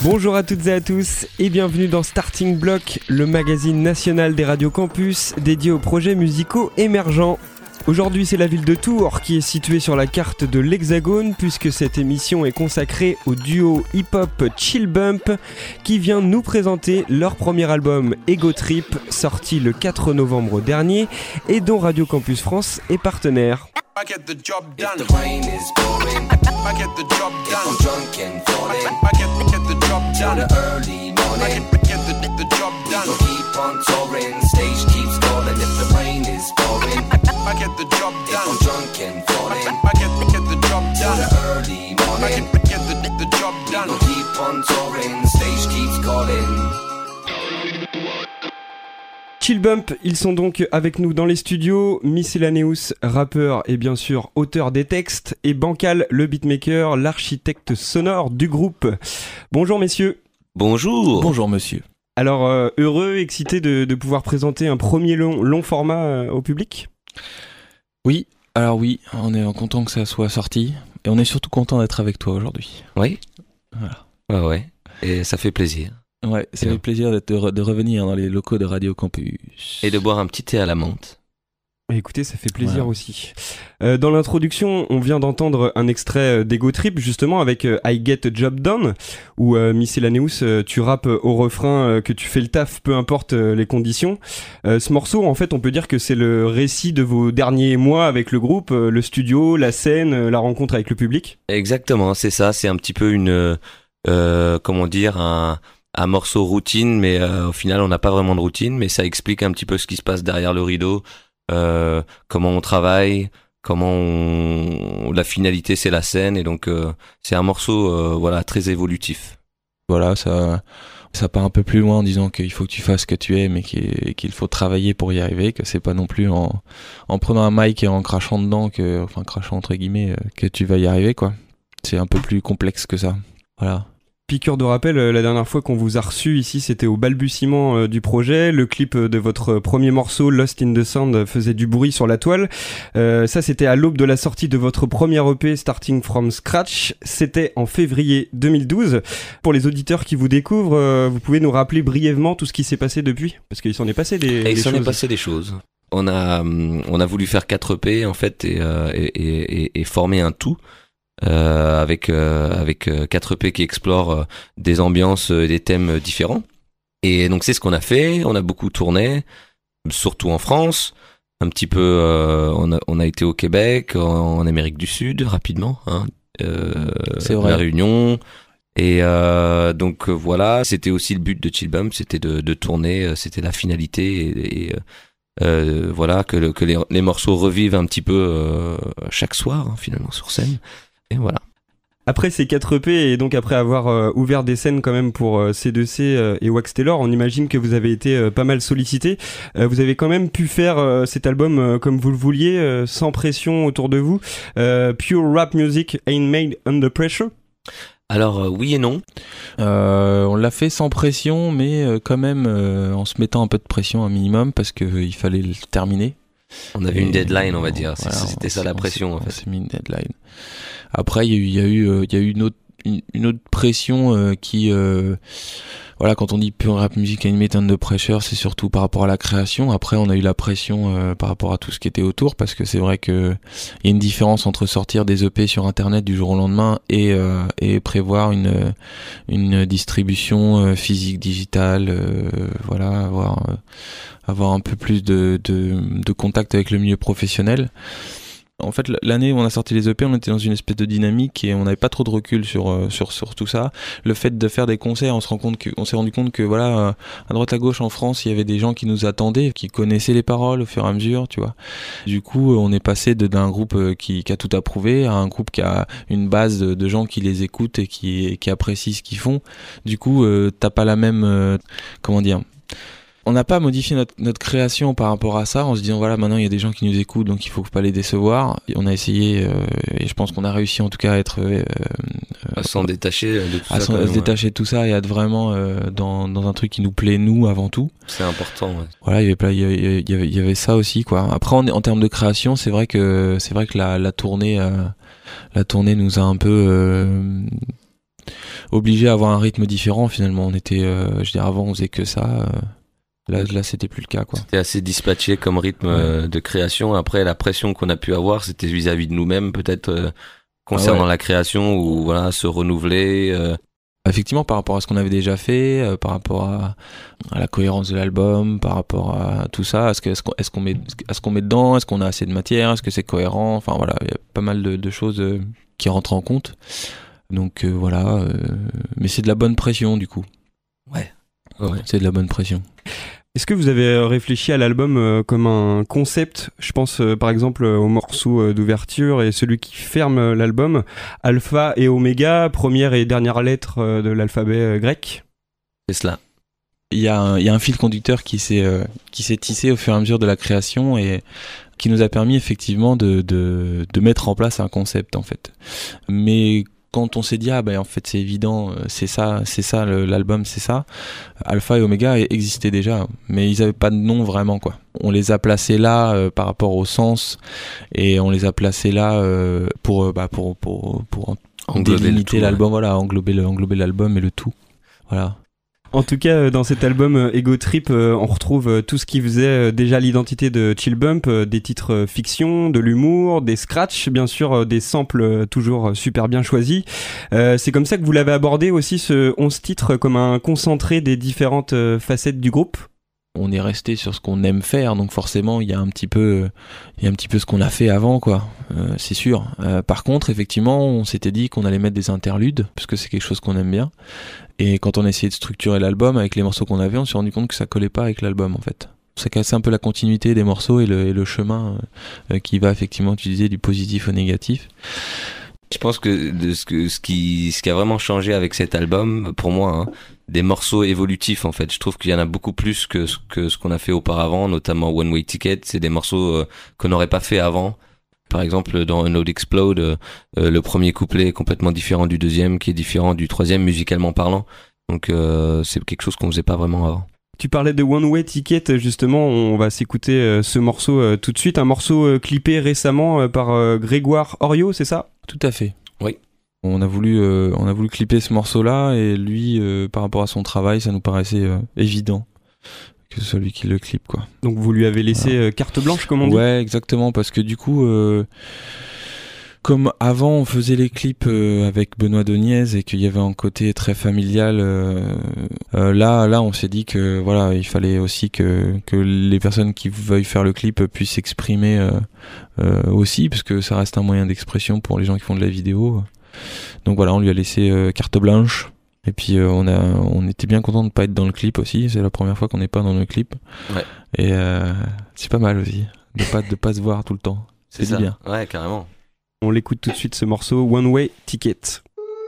Bonjour à toutes et à tous et bienvenue dans Starting Block, le magazine national des radios campus dédié aux projets musicaux émergents. Aujourd'hui, c'est la ville de Tours qui est située sur la carte de l'Hexagone puisque cette émission est consacrée au duo hip-hop Chill Bump qui vient nous présenter leur premier album Ego Trip sorti le 4 novembre dernier et dont Radio Campus France est partenaire. I get the job done. If the rain is pouring, I get the job done. If I'm drunk and falling, I get the job done. In the early morning, I get the job done. We'll keep on touring, stage keeps calling. If the rain is pouring, I get the job done. If I'm drunk and falling, I get the job done. In the early morning, I get the job done. We'll keep on touring, stage keeps calling. Chill Bump, ils sont donc avec nous dans les studios, Miscellaneous, rappeur et bien sûr auteur des textes, et Bancal, le beatmaker, l'architecte sonore du groupe. Bonjour messieurs. Bonjour. Bonjour monsieur. Alors heureux, excité de pouvoir présenter un premier long format au public ? Oui, alors oui, on est content que ça soit sorti, et on est surtout content d'être avec toi aujourd'hui. Oui. Voilà. Ouais, et ça fait plaisir. Ouais, ça fait plaisir de revenir dans les locaux de Radio Campus. Et de boire un petit thé à la menthe. Écoutez, ça fait plaisir aussi. Dans l'introduction, on vient d'entendre un extrait d'Ego Trip, justement, avec I Get a Job Done, où Miscellaneous, tu rappes au refrain que tu fais le taf, peu importe les conditions. Ce morceau, en fait, on peut dire que c'est le récit de vos derniers mois avec le groupe, le studio, la scène, la rencontre avec le public. Exactement, c'est ça, c'est un petit peu une... comment dire, un morceau routine, mais au final on n'a pas vraiment de routine, mais ça explique un petit peu ce qui se passe derrière le rideau, comment on travaille, la finalité c'est la scène, et donc c'est un morceau très évolutif. Voilà, ça part un peu plus loin en disant qu'il faut que tu fasses ce que tu aimes et qu'il faut travailler pour y arriver, que c'est pas non plus en prenant un mic et en crachant dedans, crachant entre guillemets, que tu vas y arriver, quoi. C'est un peu plus complexe que ça. Voilà. Piqûre de rappel, la dernière fois qu'on vous a reçu ici, c'était au balbutiement du projet. Le clip de votre premier morceau, Lost in the Sound, faisait du bruit sur la toile. Ça, c'était à l'aube de la sortie de votre premier EP, Starting from Scratch. C'était en février 2012. Pour les auditeurs qui vous découvrent, vous pouvez nous rappeler brièvement tout ce qui s'est passé depuis ? Parce qu'il s'en est passé des choses. Il s'en est passé des choses. On a voulu faire 4 EP, en fait, et former un tout. Avec 4 EP qui explorent des ambiances et des thèmes différents. Et donc c'est ce qu'on a fait, on a beaucoup tourné, surtout en France, un petit peu on a été au Québec, en Amérique du Sud rapidement, c'est vrai. La Réunion, et donc voilà, c'était aussi le but de Chill Bump, c'était de tourner, c'était la finalité, et voilà, que les morceaux revivent un petit peu chaque soir, finalement, sur scène. Et voilà. Après ces 4 EP et donc après avoir ouvert des scènes quand même pour C2C et Wax Taylor, on imagine que vous avez été pas mal sollicité. Vous avez quand même pu faire cet album comme vous le vouliez, sans pression autour de vous. Pure rap music ain't made under pressure. Alors oui et non. On l'a fait sans pression, mais quand même en se mettant un peu de pression un minimum parce qu'il fallait le terminer. On avait une deadline, on va dire. Voilà, c'était ça la pression, en fait. On s'est mis une deadline. Après, il y a eu une autre pression qui, voilà, quand on dit pure rap music animated under pressure, c'est surtout par rapport à la création. Après, on a eu la pression par rapport à tout ce qui était autour, parce que c'est vrai que il y a une différence entre sortir des EP sur Internet du jour au lendemain et prévoir une distribution physique, digitale, voilà, avoir un peu plus de contact avec le milieu professionnel. En fait, l'année où on a sorti les EP, on était dans une espèce de dynamique et on n'avait pas trop de recul sur tout ça. Le fait de faire des concerts, on s'est rendu compte que voilà, à droite à gauche en France, il y avait des gens qui nous attendaient, qui connaissaient les paroles au fur et à mesure, tu vois. Du coup, on est passé d'un groupe qui a tout approuvé à un groupe qui a une base de gens qui les écoutent et qui apprécient ce qu'ils font. Du coup, t'as pas la même, comment dire. On n'a pas modifié notre création par rapport à ça en se disant voilà, maintenant il y a des gens qui nous écoutent donc il faut pas les décevoir. Et on a essayé et je pense qu'on a réussi en tout cas à être à s'en détacher de tout ça, à se détacher de tout ça et à être vraiment dans un truc qui nous plaît nous avant tout. C'est important. Ouais. Voilà, il y avait ça aussi quoi. Après en termes de création, c'est vrai que la tournée nous a un peu obligé à avoir un rythme différent finalement. On était, avant on faisait que ça. Là, c'était plus le cas, quoi. C'était assez dispatché comme rythme de création. Après, la pression qu'on a pu avoir, c'était vis-à-vis de nous-mêmes, peut-être concernant la création ou voilà, se renouveler. Effectivement, par rapport à ce qu'on avait déjà fait, par rapport à la cohérence de l'album, par rapport à tout ça, est-ce qu'on met dedans, est-ce qu'on a assez de matière, est-ce que c'est cohérent, enfin voilà, il y a pas mal de choses qui rentrent en compte. Donc mais c'est de la bonne pression du coup. Ouais. C'est de la bonne pression. Est-ce que vous avez réfléchi à l'album comme un concept ? Je pense par exemple au morceau d'ouverture et celui qui ferme l'album, Alpha et Oméga, première et dernière lettre de l'alphabet grec. C'est cela. Il y a un fil conducteur qui s'est tissé au fur et à mesure de la création et qui nous a permis effectivement de mettre en place un concept en fait. Mais quand on s'est dit en fait c'est évident, c'est ça l'album, c'est ça. Alpha et Oméga existaient déjà, mais ils avaient pas de nom vraiment quoi. On les a placés là par rapport au sens et on les a placés là pour délimiter l'album, voilà, englober l'album et le tout. Voilà. En tout cas, dans cet album Ego Trip, on retrouve tout ce qui faisait déjà l'identité de Chill Bump, des titres fiction, de l'humour, des scratchs, bien sûr, des samples toujours super bien choisis. C'est comme ça que vous l'avez abordé aussi, ce 11 titres, comme un concentré des différentes facettes du groupe ? On est resté sur ce qu'on aime faire, donc forcément il y a un petit peu ce qu'on a fait avant quoi, c'est sûr. Par contre effectivement on s'était dit qu'on allait mettre des interludes parce que c'est quelque chose qu'on aime bien. Et quand on a essayé de structurer l'album avec les morceaux qu'on avait, on s'est rendu compte que ça collait pas avec l'album en fait. Ça cassait un peu la continuité des morceaux et le chemin qui va effectivement utiliser du positif au négatif. Je pense que ce qui a vraiment changé avec cet album, pour moi, des morceaux évolutifs en fait. Je trouve qu'il y en a beaucoup plus que ce qu'on a fait auparavant, notamment One Way Ticket. C'est des morceaux qu'on n'aurait pas fait avant. Par exemple, dans No Explode, le premier couplet est complètement différent du deuxième, qui est différent du troisième musicalement parlant. Donc c'est quelque chose qu'on faisait pas vraiment avant. Tu parlais de One Way Ticket, justement, on va s'écouter ce morceau tout de suite, un morceau clippé récemment par Grégoire Oriot, c'est ça ? Tout à fait. Oui. On a voulu clipper ce morceau-là et lui, par rapport à son travail, ça nous paraissait évident que ce soit lui qui le clippe, quoi. Donc vous lui avez laissé carte blanche, comme on dit ? Ouais, exactement, parce que du coup, comme avant on faisait les clips avec Benoît Doniez et qu'il y avait un côté très familial, là on s'est dit que voilà, il fallait aussi que les personnes qui veuillent faire le clip puissent s'exprimer aussi, parce que ça reste un moyen d'expression pour les gens qui font de la vidéo. Donc voilà, on lui a laissé carte blanche. Et puis on était bien content de pas être dans le clip aussi. C'est la première fois qu'on n'est pas dans le clip. Ouais. Et c'est pas mal aussi de pas se voir tout le temps. C'est ça. Bien. Ouais, carrément. On l'écoute tout de suite, ce morceau One Way Ticket.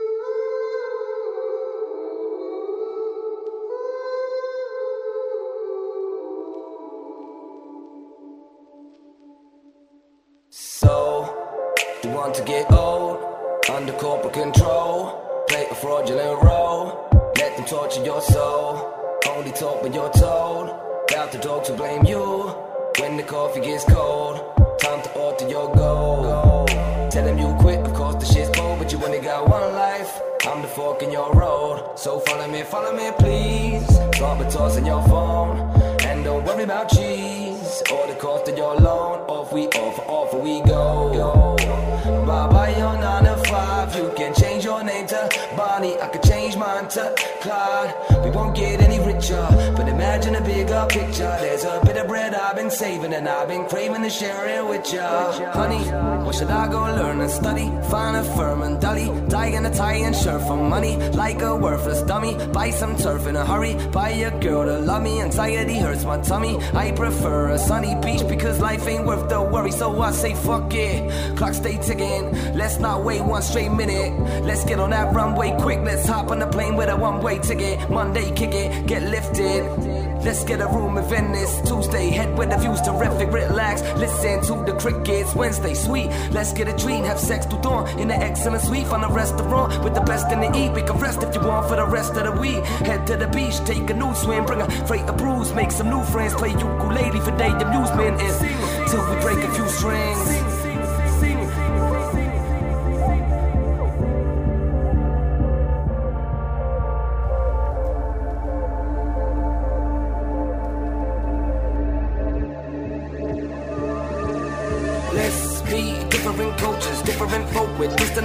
So, you want to get old, under corporate control, play a fraudulent role, let them torture your soul, only talk when you're told, doubt the dog to blame you, when the coffee gets cold, time to alter your goal, tell them you quit, of course the shit's cold, but you only got one life, I'm the fork in your road, so follow me please, drop a toss on your phone, and don't worry about cheese, or the cost of your loan, off we go. Bye your 9 to 5. You can change your name to Bonnie, I could change mine to Clyde. We won't get any richer, but imagine a bigger picture. There's a bit of bread I've been saving, and I've been craving to share it with ya. Honey, what should I go learn and study? Find a firm and dully, die in a tie and shirt for money, like a worthless dummy. Buy some turf in a hurry, buy a girl to love me. Anxiety hurts my tummy. I prefer a sunny beach because life ain't worth the worry, so I say fuck it. Clock stay ticking, let's not wait one straight minute. Let's get on that runway quick, let's hop on the plane with a one-way ticket. Monday kick it, get lifted. Let's get a room in Venice. Tuesday, head with the views terrific. Relax, listen to the crickets. Wednesday, sweet. Let's get a treat, have sex to dawn in an excellent suite. Find a restaurant with the best in the eat. We can rest if you want for the rest of the week. Head to the beach, take a new swim, bring a freight of brews, make some new friends, play ukulele for day amusement. And till we break a few strings.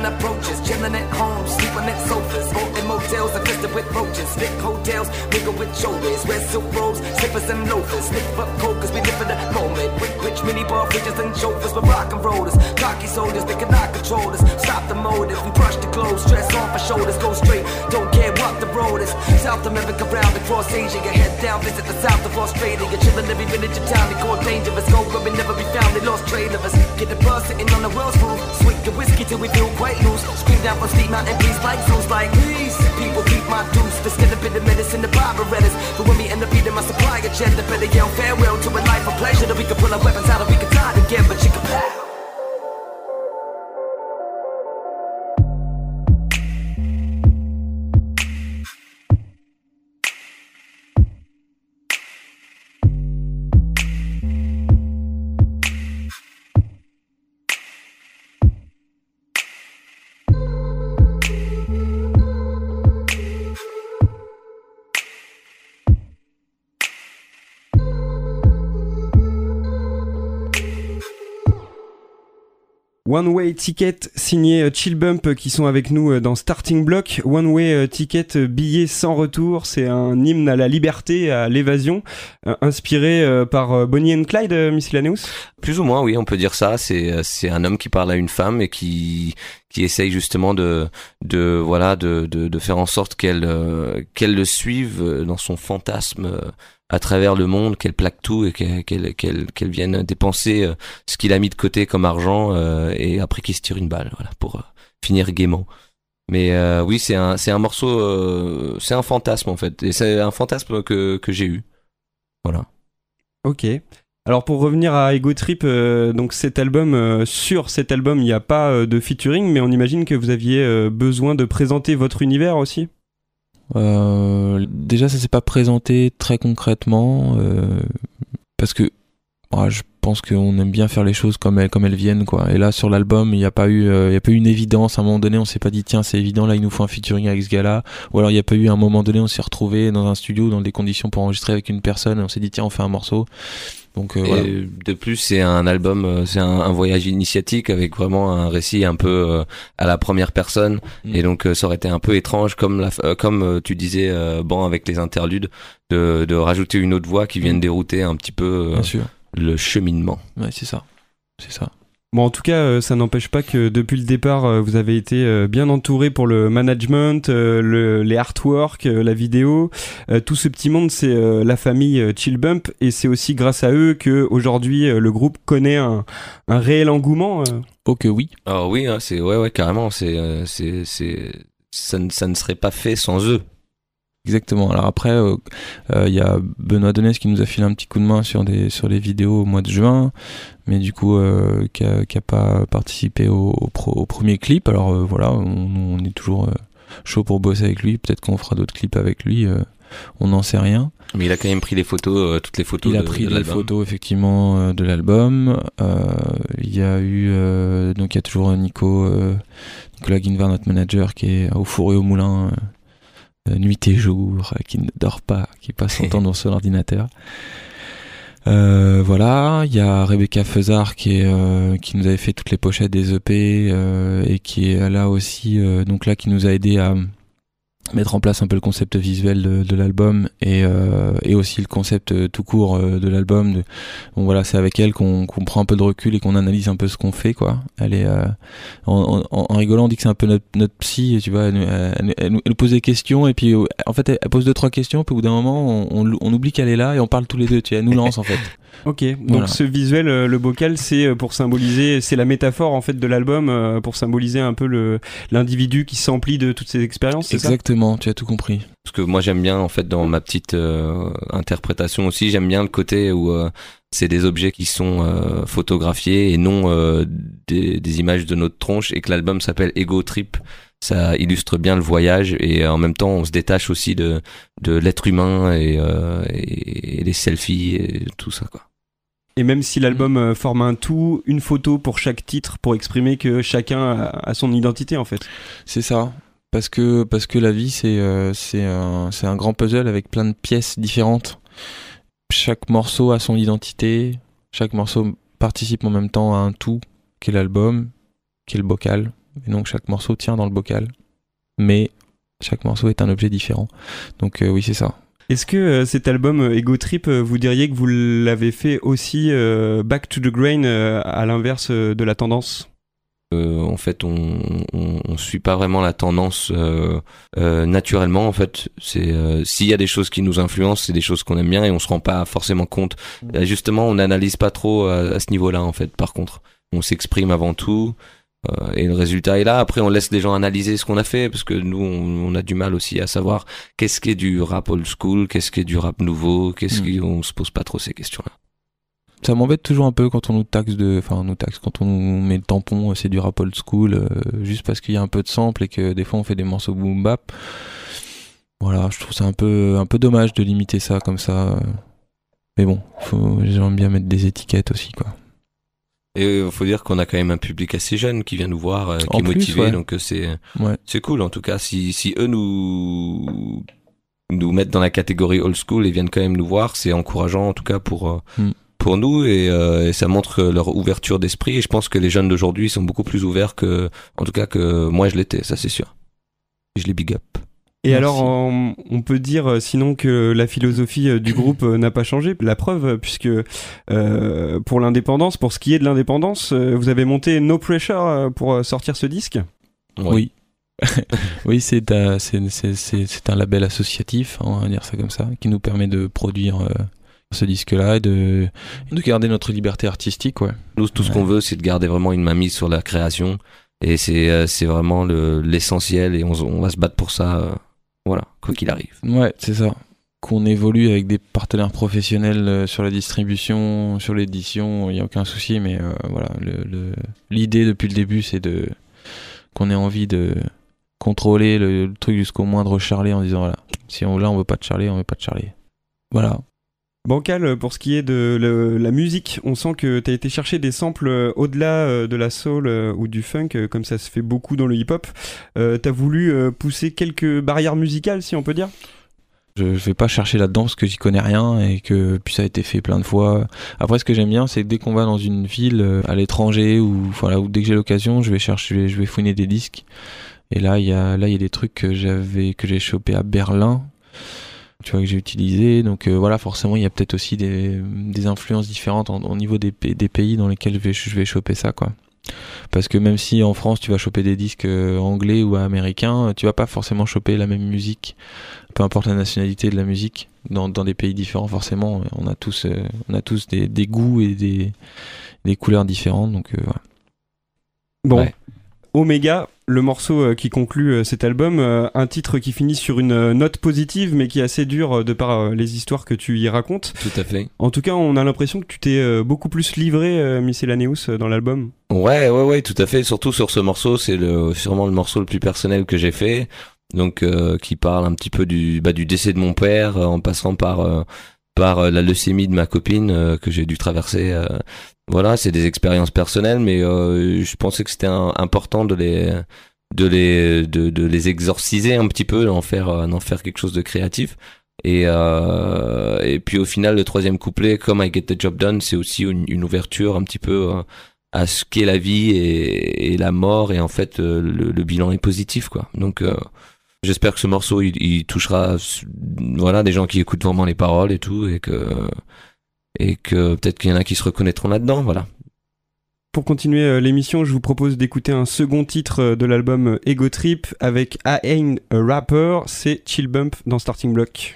sudden approaches. Chilling at home, sleeping at sofas, or in motels infested with roaches. Thick hotels, mingle with shoulders, wear silk robes, slippers and loafers. Sniff up cold cause we live in the moment. Rich mini bar fridges and chauffeurs, we're rock and rollers. Cocky soldiers, they cannot control us. Stop the motive, we brush the clothes, stress off our shoulders, go straight, don't care what the road is. South America round across Asia, you head down, visit the south of Australia. You're chilling every village in town, they call dangerous. Go where we never be found, they lost trail of us. Get the bus sitting on the world's roof, swig the whiskey till we feel quite loose. Scream down from steep mountain breeze like zoos, like please. People keep my deuce, there's still a bit of medicine, the barbarettas. But when we end up eating my supply of cheddar, better yell farewell to a life of pleasure. That we can pull our weapons out and we can die together, chicka pow. One Way Ticket signé Chill Bump qui sont avec nous dans Starting Block. One Way Ticket, billet sans retour, c'est un hymne à la liberté, à l'évasion, inspiré par Bonnie and Clyde, Miscellaneous. Plus ou moins, oui, on peut dire ça. C'est un homme qui parle à une femme et qui essaye justement de faire en sorte qu'elle le suive dans son fantasme à travers le monde, qu'elle plaque tout et qu'elle vienne dépenser ce qu'il a mis de côté comme argent et après qu'il se tire une balle, voilà, pour finir gaiement. Mais oui, c'est un morceau, c'est un fantasme en fait, et c'est un fantasme que j'ai eu. Voilà. Ok. Alors pour revenir à Ego Trip, donc cet album, sur cet album, il n'y a pas de featuring, mais on imagine que vous aviez besoin de présenter votre univers aussi. Déjà ça s'est pas présenté très concrètement parce que je pense qu'on aime bien faire les choses comme elles viennent, quoi. Et là sur l'album il y a pas eu une évidence. À un moment donné on s'est pas dit tiens c'est évident là il nous faut un featuring avec ce gars-là, ou alors il y a pas eu un moment donné on s'est retrouvé dans un studio dans des conditions pour enregistrer avec une personne et on s'est dit tiens on fait un morceau. Donc, voilà. De plus, c'est un album, c'est un voyage initiatique avec vraiment un récit un peu à la première personne. Et donc, ça aurait été un peu étrange, comme tu disais, avec les interludes, de rajouter une autre voix qui vienne dérouter un petit peu le cheminement. Ouais, c'est ça. Bon, en tout cas, ça n'empêche pas que depuis le départ, vous avez été bien entouré pour le management, les artworks, la vidéo. Tout ce petit monde, c'est la famille Chill Bump, et c'est aussi grâce à eux que aujourd'hui le groupe connaît un réel engouement. Oh que oui. Ah oui, hein, ouais carrément. Ça ne serait pas fait sans eux. Exactement. Alors après, y a Benoît Donès qui nous a filé un petit coup de main sur les vidéos au mois de juin, mais du coup qui a pas participé au premier clip. Alors voilà, on est toujours chaud pour bosser avec lui. Peut-être qu'on fera d'autres clips avec lui. On n'en sait rien. Mais il a quand même pris les photos, toutes les photos. Il a pris les photos effectivement de l'album. Il y a eu donc il y a toujours Nicolas Guinevard, notre manager, qui est au four et au moulin. Nuit et jour, qui ne dort pas, qui passe son temps dans son ordinateur. Voilà, il y a Rebecca Feuzard qui nous avait fait toutes les pochettes des EP et qui est là aussi, donc là qui nous a aidé à mettre en place un peu le concept visuel de l'album et aussi le concept tout court de l'album. Bon voilà, c'est avec elle qu'on prend un peu de recul et qu'on analyse un peu ce qu'on fait, quoi. Elle est en rigolant on dit que c'est un peu notre psy, tu vois. Elle nous pose des questions et puis en fait elle pose 2-3 questions puis au bout d'un moment on oublie qu'elle est là et on parle tous les deux, tu vois, elle nous lance en fait. Ok, donc voilà. Ce visuel, le bocal, c'est pour symboliser, c'est la métaphore en fait de l'album, pour symboliser un peu l'individu qui s'emplit de toutes ces expériences, c'est exactement, ça, tu as tout compris. Parce que moi j'aime bien en fait dans ma petite interprétation aussi, j'aime bien le côté où c'est des objets qui sont photographiés et non des images de notre tronche, et que l'album s'appelle Ego Trip. Ça illustre bien le voyage et en même temps on se détache aussi de l'être humain et les selfies et tout ça, quoi. Et même si l'album forme un tout, une photo pour chaque titre pour exprimer que chacun a son identité en fait. C'est ça, parce que la vie c'est un grand puzzle avec plein de pièces différentes. Chaque morceau a son identité, chaque morceau participe en même temps à un tout qui est l'album, qui est le bocal. et donc chaque morceau tient dans le bocal, mais chaque morceau est un objet différent. Donc oui, c'est ça. Est-ce que cet album Ego Trip, vous diriez que vous l'avez fait aussi back to the grain, à l'inverse de la tendance ? En fait, on suit pas vraiment la tendance naturellement. En fait, c'est s'il y a des choses qui nous influencent, c'est des choses qu'on aime bien et on se rend pas forcément compte. Justement, on n'analyse pas trop à ce niveau-là. En fait, par contre, on s'exprime avant tout. Et le résultat est là. Après, on laisse les gens analyser ce qu'on a fait parce que nous, on a du mal aussi à savoir qu'est-ce qui est du rap old school, qu'est-ce qui est du rap nouveau, on se pose pas trop ces questions-là. Ça m'embête toujours un peu quand on nous taxe quand on nous met le tampon, c'est du rap old school, juste parce qu'il y a un peu de sample et que des fois on fait des morceaux boom bap. Voilà, je trouve ça un peu dommage de limiter ça comme ça. Mais bon, j'aime bien mettre des étiquettes aussi, quoi. Et il faut dire qu'on a quand même un public assez jeune qui vient nous voir, qui est motivé, ouais. Donc c'est cool en tout cas. Si eux nous mettent dans la catégorie old school et viennent quand même nous voir, c'est encourageant en tout cas pour nous et ça montre leur ouverture d'esprit. Et je pense que les jeunes d'aujourd'hui sont beaucoup plus ouverts que moi je l'étais, ça c'est sûr. Et je les big up. Et merci. Alors, on peut dire sinon que la philosophie du groupe n'a pas changé. La preuve, puisque pour l'indépendance, pour ce qui est de l'indépendance, vous avez monté No Pressure pour sortir ce disque. Oui. Oui, c'est un label associatif, on va dire ça comme ça, qui nous permet de produire ce disque-là et de garder notre liberté artistique. Ouais. Nous, tout ce qu'on veut, c'est de garder vraiment une mainmise sur la création. Et c'est vraiment l'essentiel et on va se battre pour ça. Voilà, quoi qu'il arrive. Ouais, c'est ça. Qu'on évolue avec des partenaires professionnels sur la distribution, sur l'édition, il n'y a aucun souci, mais voilà, l'idée depuis le début, c'est qu'on ait envie de contrôler le truc jusqu'au moindre charlet en disant voilà, si on veut pas de charlet, on veut pas de charlet. Voilà. Bancal, pour ce qui est de la musique, on sent que t'as été chercher des samples au-delà de la soul ou du funk, comme ça se fait beaucoup dans le hip-hop. T'as voulu pousser quelques barrières musicales, si on peut dire ? Je vais pas chercher là-dedans parce que j'y connais rien et que puis ça a été fait plein de fois. Après, ce que j'aime bien, c'est que dès qu'on va dans une ville à l'étranger ou dès que j'ai l'occasion, je vais fouiner des disques. Et là, il y a des trucs que j'ai chopé à Berlin. Tu vois, que j'ai utilisé, donc voilà, forcément il y a peut-être aussi des influences différentes au niveau des pays dans lesquels je vais choper ça, quoi. Parce que même si en France tu vas choper des disques anglais ou américains, tu vas pas forcément choper la même musique, peu importe la nationalité de la musique, dans des pays différents. Forcément on a tous des goûts et des couleurs différentes, donc voilà. Bon, ouais. Omega, le morceau qui conclut cet album, un titre qui finit sur une note positive mais qui est assez dur de par les histoires que tu y racontes. Tout à fait. En tout cas, on a l'impression que tu t'es beaucoup plus livré, Miscellaneous, dans l'album. Ouais, tout à fait. Surtout sur ce morceau, c'est sûrement le morceau le plus personnel que j'ai fait. Donc, qui parle un petit peu du décès de mon père, en passant par la leucémie de ma copine que j'ai dû traverser. Voilà, c'est des expériences personnelles, mais je pensais que c'était important de les exorciser un petit peu, d'en faire quelque chose de créatif. Et puis au final, le troisième couplet, comme I Get the Job Done, c'est aussi une ouverture un petit peu à ce qu'est la vie et la mort, et en fait le bilan est positif, quoi. Donc j'espère que ce morceau il touchera des gens qui écoutent vraiment les paroles et tout, et que peut-être qu'il y en a qui se reconnaîtront là-dedans, voilà. Pour continuer l'émission, je vous propose d'écouter un second titre de l'album Ego Trip avec I Ain't a Rapper, c'est Chill Bump dans Starting Block.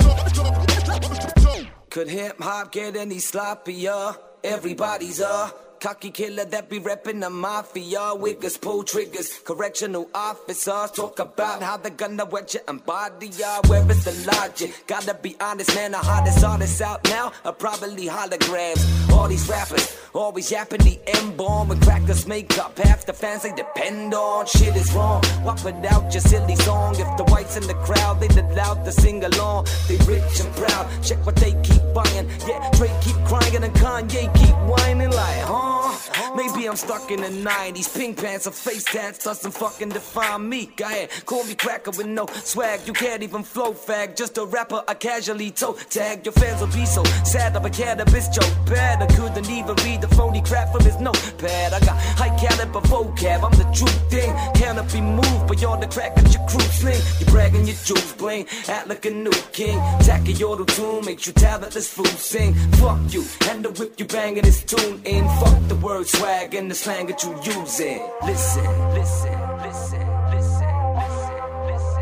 Could hip hop get any sloppier? Everybody's cocky killer that be reppin' the mafia. Wiggers pull triggers, correctional officers talk about how they're gonna wet you and body ya. Where is the logic? Gotta be honest, man, the hottest artists out now are probably holograms. All these rappers always yapping the M-bomb when crackers make up half the fans they depend on. Shit is wrong, why put out your silly song? If the whites in the crowd, they allowed to sing along. They rich and proud, check what they keep buying. Yeah, Drake keep crying and Kanye keep whining like, huh? Maybe I'm stuck in the 90s. Pink pants or face tats doesn't fucking define me. Go ahead, call me cracker with no swag. You can't even flow fag, just a rapper I casually toe tag. Your fans will be so sad of a cannabis joke bad. I couldn't even read the phony crap from his notepad. I got high caliber vocab, I'm the true thing. Cannot be moved beyond the crack of your crew sling. You bragging your jewels bling, act like a new king. Tacky auto tune makes you talentless fool sing. Fuck you, and the whip you banging this tune in. Fuck the word swag and the slang that you using. Listen, listen, listen, listen, listen,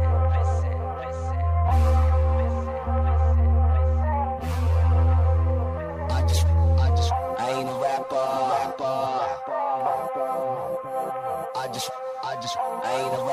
I ain't a rapper. I ain't a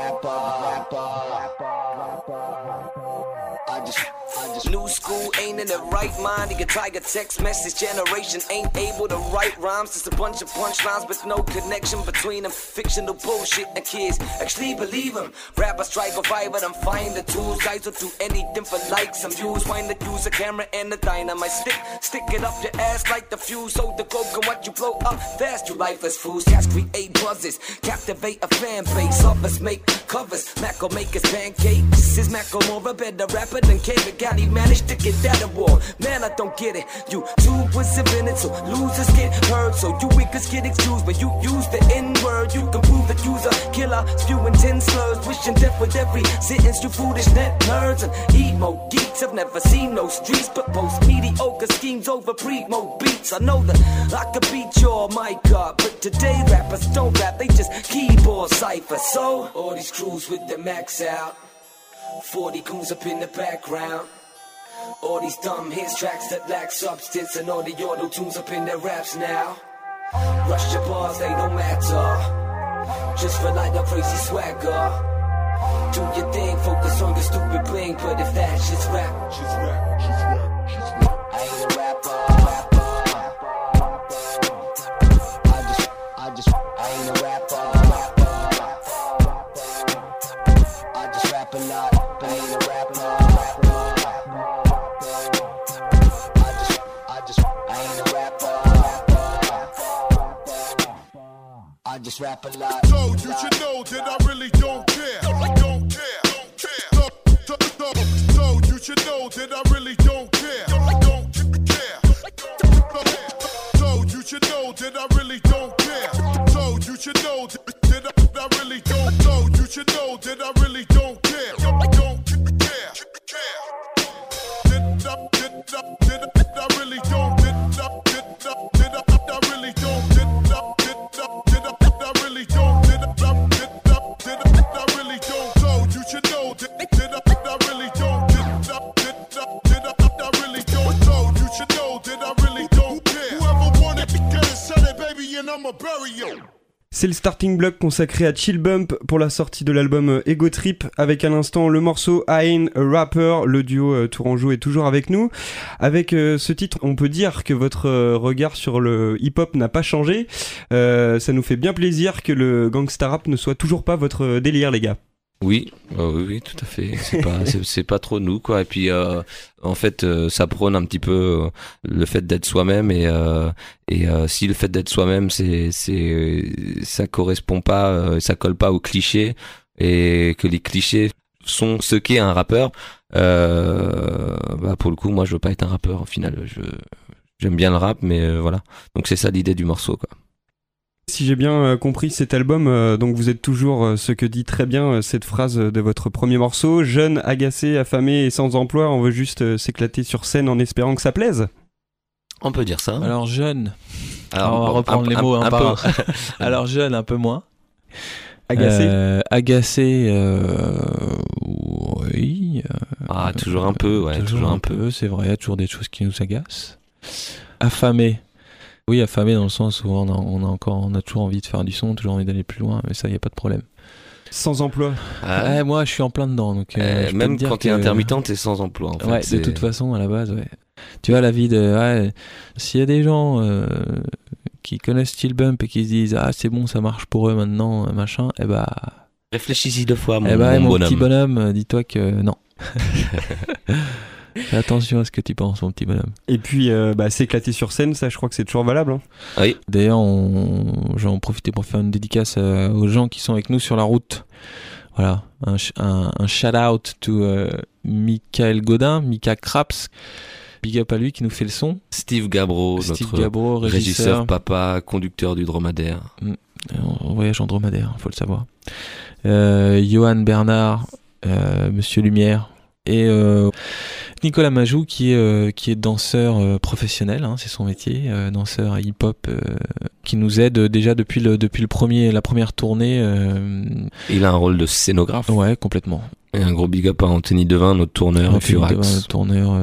rapper. New school ain't in the right mind. You can type a text message. Generation ain't able to write rhymes. Just a bunch of punchlines with no connection between them. Fictional bullshit and kids actually believe them. Rappers try to vibe them, find the tools. Guys will do anything for likes and views. Find the use a camera and a dynamite stick. Stick it up your ass like the fuse. So the globe can watch you blow up fast. You lifeless fools. Cats create buzzes, captivate a fan base. Others make covers. Mac will make his pancakes. Is Mac more a better rapper than Kevin? Got he managed to get that award. Man, I don't get it. You too was invented so losers get heard. So you weakers get excused when you use the N-word. You can prove that you's a killer, spewing 10 slurs, wishing death with every sentence. You foolish net nerds and emo geeks have never seen no streets, but post mediocre schemes over primo beats. I know that I could beat your mic up, but today rappers don't rap, they just keyboard cipher. So all these crews with the max out, 40 goons up in the background. All these dumb hits, tracks that lack substance, and all the auto-tunes up in their raps now. Rush your bars, they don't matter. Just rely on crazy swagger. Do your thing, focus on your stupid bling. But if that shit's rap, I ain't a rapper. I ain't a rapper. I just rap a lot, but I ain't a rapper. I just rap a lot. So you should know that I really don't care. Don't care. So you should know that I really don't care. Don't care. So you should know that I really don't care. So you should know that I really don't. So you should know that I really don't care. Don't care. Did I really don't. Did I really don't. C'est le starting block consacré à Chill Bump pour la sortie de l'album Ego Trip, avec à l'instant le morceau I Ain't a Rapper. Le duo tourangeau est toujours avec nous. Avec ce titre, on peut dire que votre regard sur le hip-hop n'a pas changé. Ça nous fait bien plaisir que le gangsta rap ne soit toujours pas votre délire, les gars. Oui, oui, tout à fait. C'est pas trop nous, quoi. Et puis, en fait, ça prône un petit peu le fait d'être soi-même et si le fait d'être soi-même, ça correspond pas, ça colle pas aux clichés et que les clichés sont ce qu'est un rappeur. Pour le coup, moi, je veux pas être un rappeur. Au final, j'aime bien le rap, mais voilà. Donc c'est ça l'idée du morceau, quoi. Si j'ai bien compris cet album, donc vous êtes toujours ce que dit très bien cette phrase de votre premier morceau: jeune, agacé, affamé et sans emploi, on veut juste s'éclater sur scène en espérant que ça plaise. On peut dire ça. Alors jeune, alors, on va reprendre les mots un par un. Alors jeune, un peu moins. Agacé, oui. Toujours un peu, ouais. Toujours un peu, c'est vrai, il y a toujours des choses qui nous agacent. Affamé. Oui, affamé dans le sens où on a toujours envie de faire du son, toujours envie d'aller plus loin, mais ça, il n'y a pas de problème. Sans emploi. Ouais, moi, je suis en plein dedans. Donc, je peux même te dire quand t'es que- intermittent, t'es sans emploi. En fait. Ouais, de toute façon, à la base, ouais. Tu vois, la vie de. Ouais, s'il y a des gens qui connaissent Steel Bump et qui se disent ah, c'est bon, ça marche pour eux maintenant, machin, eh bah. Réfléchis-y 2 fois, mon bonhomme. Petit bonhomme, dis-toi que non. Fais attention à ce que tu penses, mon petit bonhomme. Et puis, s'éclater sur scène, ça, je crois que c'est toujours valable. Hein. Oui. D'ailleurs, j'en profiter pour faire une dédicace aux gens qui sont avec nous sur la route. Voilà, un shout-out to Michael Godin, Mika Craps. Big up à lui qui nous fait le son. Steve Gabro, notre Gabro, régisseur papa, conducteur du dromadaire. On voyage en dromadaire, faut le savoir. Johan Bernard, Monsieur Lumière et Nicolas Majou qui est danseur professionnel, hein, c'est son métier, danseur hip-hop qui nous aide déjà depuis la première tournée. Il a un rôle de scénographe. Ouais, complètement. Et un gros big up à Anthony Devin, notre tourneur, Furax. Le tourneur,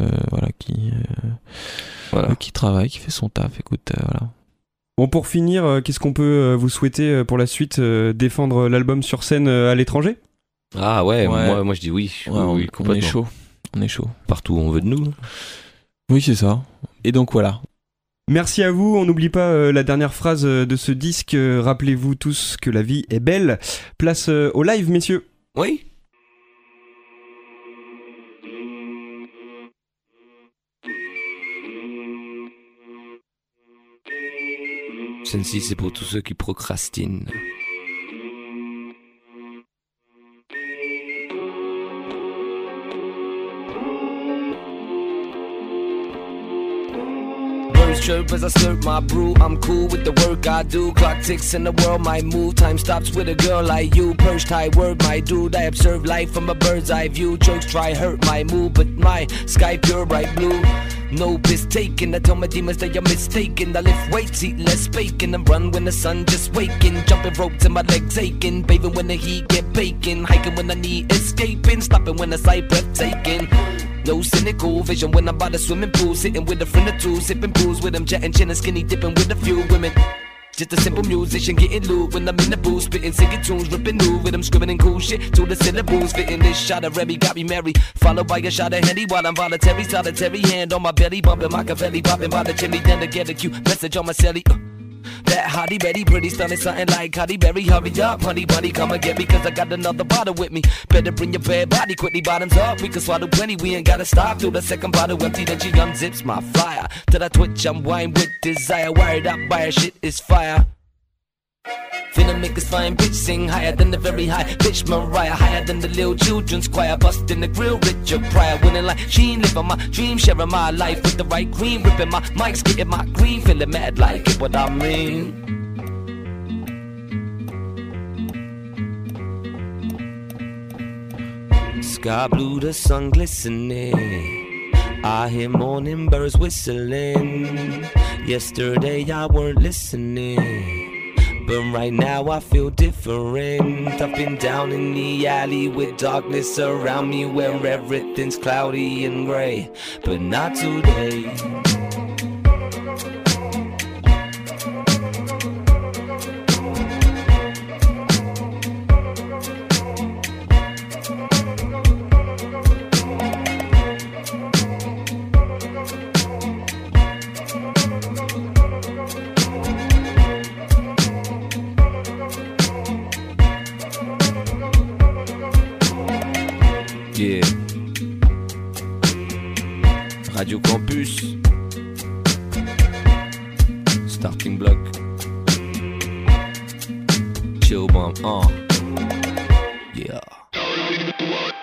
qui travaille, qui fait son taf. Écoute, voilà. Bon, pour finir, qu'est-ce qu'on peut vous souhaiter pour la suite, défendre l'album sur scène à l'étranger ? Ah ouais. Moi je dis oui. Ouais, oui, on est chaud. On est chaud. Partout où on veut de nous. Oui, c'est ça. Et donc voilà. Merci à vous. On n'oublie pas la dernière phrase de ce disque. Rappelez-vous tous que la vie est belle. Place au live, messieurs. Oui. Celle-ci, c'est pour tous ceux qui procrastinent. Chirp as I slurp my brew. I'm cool with the work I do. Clock ticks and the world might move. Time stops with a girl like you. Perched high word, my dude. I observe life from a bird's eye view. Jokes try hurt my mood, but my sky pure bright blue. No piss taken. I tell my demons that you're mistaken. I lift weights, eat less bacon, and run when the sun just waking. Jumping ropes and my legs aching. Bathing when the heat get baking. Hiking when I need escaping. Stopping when the sight breathtaking. No cynical vision when I'm by the swimming pool. Sitting with a friend or two, sipping booze with them, jetting chin and skinny dipping with a few women. Just a simple musician getting loot when I'm in the booth, spitting singing tunes, ripping new rhythm, scribbling cool shit to the syllables, fitting this shot of Remy got me merry, followed by a shot of Henny while I'm voluntary, solitary hand on my belly, bumping Machiavelli, popping by the chimney, then to get a cute message on my celly. That hottie Betty, pretty stunning, something like Cotty Berry. Hurry up, honey bunny, come and get me, cause I got another bottle with me. Better bring your bad body quickly, bottoms up. We can swallow plenty, we ain't gotta stop. Through the second bottle empty, then she unzips my flyer. Till I twitch, I'm wine with desire. Wired up by her shit is fire. Finna make this fine bitch sing higher than the very high bitch Mariah, higher than the little children's choir, busting the grill, Richard Pryor, winning like Sheen, living my dream, sharing my life with the right queen, ripping my mics, getting my green, feeling mad like it, what I mean. Sky blue, the sun glistening, I hear morning birds whistling. Yesterday I weren't listening, but right now I feel different. I've been down in the alley with darkness around me, where everything's cloudy and grey, but not today. Yeah. Radio Campus, Starting Block, Chill Bomb, yeah.